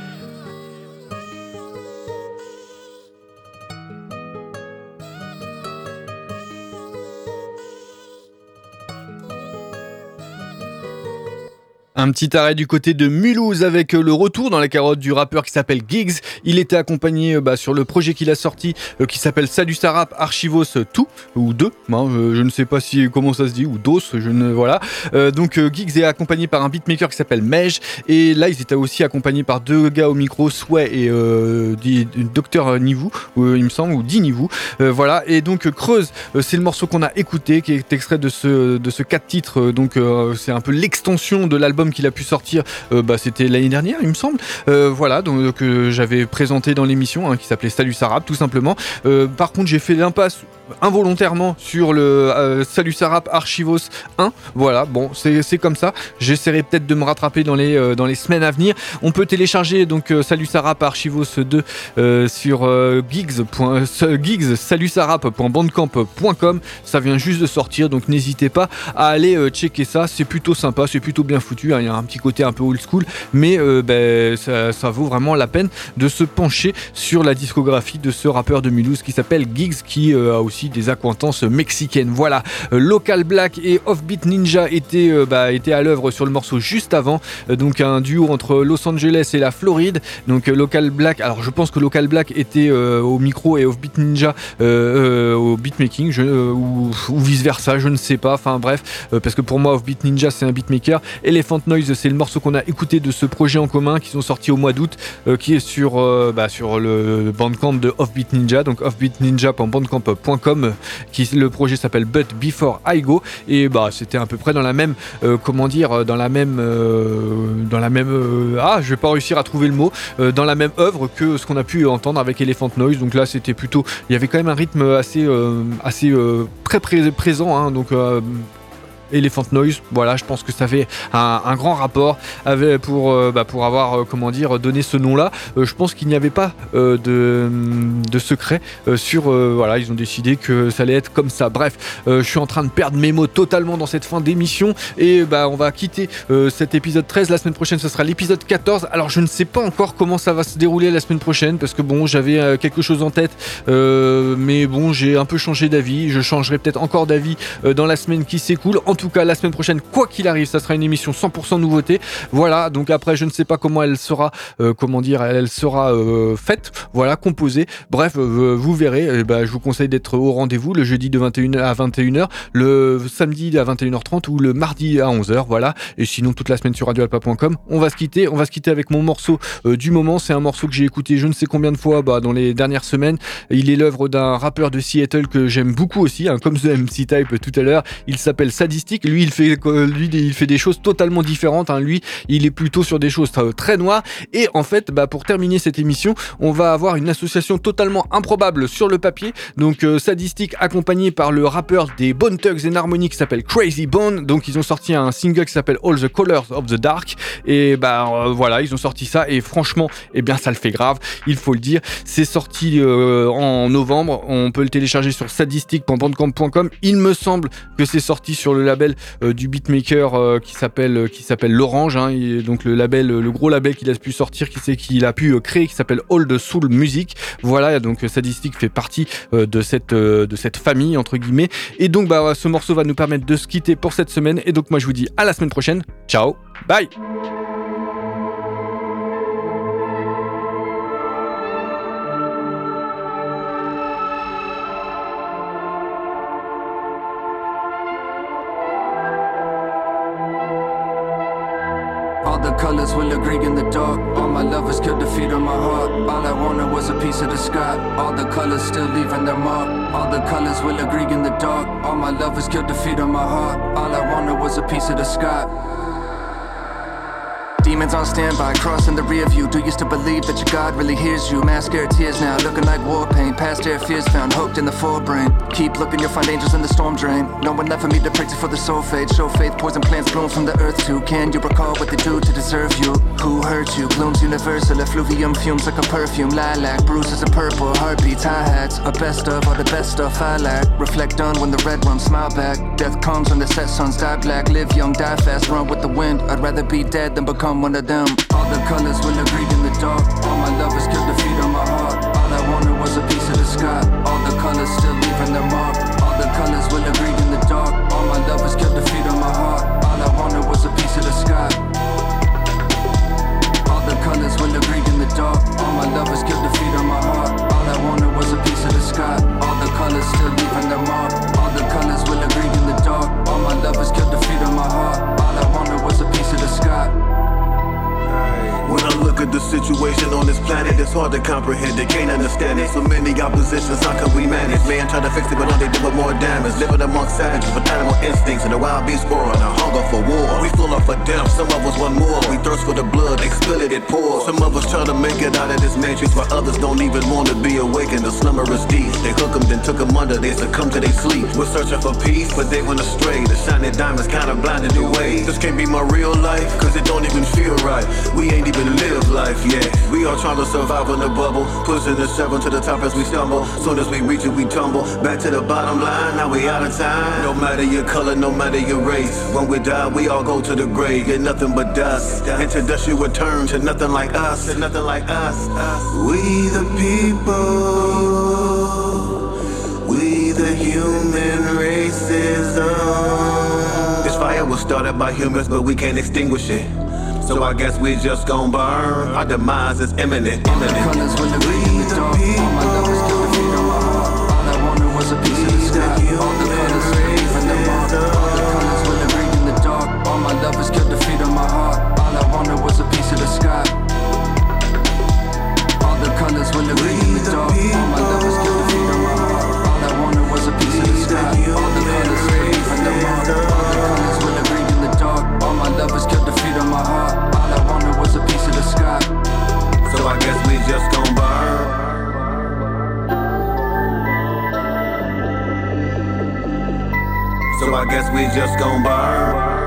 Un petit arrêt du côté de Mulhouse avec le retour dans la carotte du rappeur qui s'appelle Giggs. Il était accompagné bah, sur le projet qu'il a sorti euh, qui s'appelle Salut ça rap Archivos deux ou deux, hein, euh, je ne sais pas si comment ça se dit, ou dos, je ne voilà. Euh, donc euh, Giggs est accompagné par un beatmaker qui s'appelle Mej et là ils étaient aussi accompagnés par deux gars au micro, Sway et euh, Docteur Nivou, euh, il me semble, ou Di Nivou. Euh, voilà, et donc Creuse, euh, c'est le morceau qu'on a écouté qui est extrait de ce de ce quatre titres. Euh, donc euh, c'est un peu l'extension de l'album qu'il a pu sortir, euh, bah, c'était l'année dernière il me semble, euh, voilà, donc que euh, j'avais présenté dans l'émission, hein, qui s'appelait Salut ça rap tout simplement. Euh, par contre j'ai fait l'impasse involontairement sur le euh, Salut ça rap Archivos un, voilà, bon c'est, c'est comme ça, j'essaierai peut-être de me rattraper dans les, euh, dans les semaines à venir. On peut télécharger donc euh, Salut ça rap Archivos deux euh, sur euh, Giggs, Giggs salut ça rap point bandcamp point com, ça vient juste de sortir donc n'hésitez pas à aller euh, checker ça, c'est plutôt sympa, c'est plutôt bien foutu, hein, il y a un petit côté un peu old school mais euh, ben, ça, ça vaut vraiment la peine de se pencher sur la discographie de ce rappeur de Mulhouse qui s'appelle Giggs, qui euh, a aussi des accointances mexicaines. Voilà, euh, Local Black et Offbeat Ninja étaient, euh, bah, étaient à l'œuvre sur le morceau juste avant, euh, donc un duo entre Los Angeles et la Floride. Donc euh, Local Black, alors je pense que Local Black était euh, au micro et Offbeat Ninja euh, euh, au beatmaking, je, euh, ou, ou vice versa, je ne sais pas, enfin bref, euh, parce que pour moi Offbeat Ninja c'est un beatmaker. Elephant Noise c'est le morceau qu'on a écouté de ce projet en commun qui sont sortis au mois d'août, euh, qui est sur, euh, bah, sur le bandcamp de Offbeat Ninja, donc offbeat ninja point bandcamp point com, qui le projet s'appelle But Before I Go, et bah c'était à peu près dans la même euh, comment dire dans la même euh, dans la même euh, ah je vais pas réussir à trouver le mot euh, dans la même œuvre que ce qu'on a pu entendre avec Elephant Noise. Donc là c'était plutôt, il y avait quand même un rythme assez euh, assez euh, très pré- présent hein, donc euh, Elephant Noise. Voilà, je pense que ça fait un, un grand rapport avec, pour, euh, bah, pour avoir euh, comment dire, donné ce nom-là. Euh, je pense qu'il n'y avait pas euh, de, de secret euh, sur... Euh, voilà, ils ont décidé que ça allait être comme ça. Bref, euh, je suis en train de perdre mes mots totalement dans cette fin d'émission et bah, on va quitter euh, cet épisode treize. La semaine prochaine, ce sera l'épisode quatorze. Alors, je ne sais pas encore comment ça va se dérouler la semaine prochaine parce que bon, j'avais euh, quelque chose en tête, euh, mais bon, j'ai un peu changé d'avis. Je changerai peut-être encore d'avis euh, dans la semaine qui s'écoule. En tout cas, la semaine prochaine, quoi qu'il arrive, ça sera une émission cent pour cent nouveauté. Voilà, donc après, je ne sais pas comment elle sera, euh, comment dire, elle sera euh, faite, voilà, composée. Bref, euh, vous verrez. Et bah, je vous conseille d'être au rendez-vous le jeudi de vingt et une heures à vingt et une heures, le samedi à vingt et une heures trente ou le mardi à onze heures. Voilà. Et sinon, toute la semaine sur radio alpa point com. On va se quitter. On va se quitter avec mon morceau euh, du moment. C'est un morceau que j'ai écouté je ne sais combien de fois bah, dans les dernières semaines. Il est l'œuvre d'un rappeur de Seattle que j'aime beaucoup aussi, hein, comme The M C Type tout à l'heure. Il s'appelle Sadistic. Lui, il fait, euh, lui, il fait des choses totalement différentes. Hein. Lui, il est plutôt sur des choses très noires. Et en fait, bah, pour terminer cette émission, on va avoir une association totalement improbable sur le papier. Donc, euh, Sadistic accompagné par le rappeur des Bone Thugs and Harmony qui s'appelle Crazy Bone. Donc, ils ont sorti un single qui s'appelle All the Colors of the Dark. Et bah euh, voilà, ils ont sorti ça. Et franchement, eh bien, ça le fait grave. Il faut le dire. C'est sorti euh, en novembre. On peut le télécharger sur sadistic point bandcamp point com. Il me semble que c'est sorti sur le label euh, du beatmaker euh, qui s'appelle euh, qui s'appelle l'Orange. Hein, et donc le label, le gros label qu'il a pu sortir, qui c'est qu'il a pu euh, créer, qui s'appelle All the Soul Music. Voilà, donc Sadistic fait partie euh, de cette euh, de cette famille entre guillemets. Et donc bah ce morceau va nous permettre de se quitter pour cette semaine. Et donc moi je vous dis à la semaine prochaine. Ciao, bye. All the colors will agree in the dark. All my lovers killed the feet on my heart. All I wanted was a piece of the sky. All the colors still leaving their mark. All the colors will agree in the dark. All my lovers killed the feet on my heart. All I wanted was a piece of the sky. Demons on standby, crossing the rear view. Do you still believe that your God really hears you? Mascara tears now, looking like war paint. Past air fears found, hooked in the forebrain. Keep looking, you'll find angels in the storm drain. No one left for me to pray to for the soul fade. Show faith, poison plants bloom from the earth too. Can you recall what they do to deserve you? Who hurt you? Glooms universal, effluvium fumes like a perfume. Lilac, bruises of purple, heartbeats, hi-hats. A best of all the best stuff I lack. Reflect on when the red rum smile back. Death comes when the set suns die black. Live young, die fast, run with the wind. I'd rather be dead than become one of them. All the colors will agree in the dark. All my lovers killed the feet on my heart. All I wanted was a piece of the sky. All the colors still leaving their mark. All the colors will agree in the dark. All my lovers killed the feet on my heart. All I wanted was a piece of the sky. All the colors will agree in the dark. All my lovers killed the feet on my heart. All I wanted was a piece of the sky. All the colors still leaving their mark. All the colors will agree in the dark. All my lovers killed the feet on my heart. All I wanted was a piece of the sky. When I look at the situation on this planet, it's hard to comprehend it, can't understand it. So many oppositions, how can we manage? Man try to fix it, but all they do is more damage. Living amongst savages with animal instincts and the wild beast growing, a hunger for war. We full up for death, some of us want more. We thirst for the blood, they spill it, it pours. Some of us try to make it out of this matrix, while others don't even want to be awakened. The slumber is deep. They hook them, then took them under, they succumb to their sleep. We're searching for peace, but they went astray. The shining diamonds kinda blinded their ways. This can't be my real life, cause it don't even feel right. We ain't even live life yet. We are trying to survive in the bubble, pushing the seven to the top as we stumble. Soon as we reach it, we tumble back to the bottom line. Now we out of time. No matter your color, no matter your race, when we die, we all go to the grave. Get nothing but dust. Into dust you return to nothing like us. To nothing like us. We the people. We the human racism. This fire was started by humans, but we can't extinguish it. So I guess we just gon' burn. Our demise is imminent. All the colors will agree in the dark. All my lovers killed the feet on my heart. All I wanted was a piece of the sky. All the colors will leave their mark. All the colors will agree in the dark. All my lovers killed the feet on my heart. All I wanted was a piece of the sky. All the colors will agree in the dark. All my lovers killed the feet on my heart. All I wanted was a piece of the sky. All the colors will leave their mark. All the colors will agree in the dark. All my lovers killed the feet on my heart. All I wanted was a piece of the sky. So I guess we just gon' burn. So I guess we just gon' burn.